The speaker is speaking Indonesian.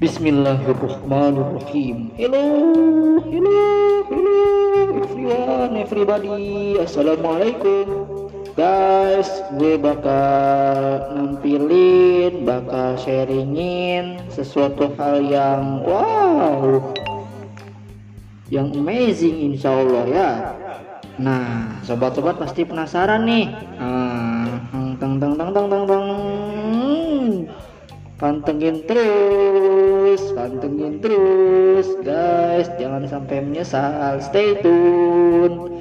Bismillahirrahmanirrahim. Hello, hello, hello, everybody. Assalamualaikum, guys. Gue bakal sharingin sesuatu hal yang wow, yang amazing, insya Allah ya. Nah, sobat-sobat pasti penasaran nih. Pantengin terus guys, jangan sampai menyesal. Stay tune.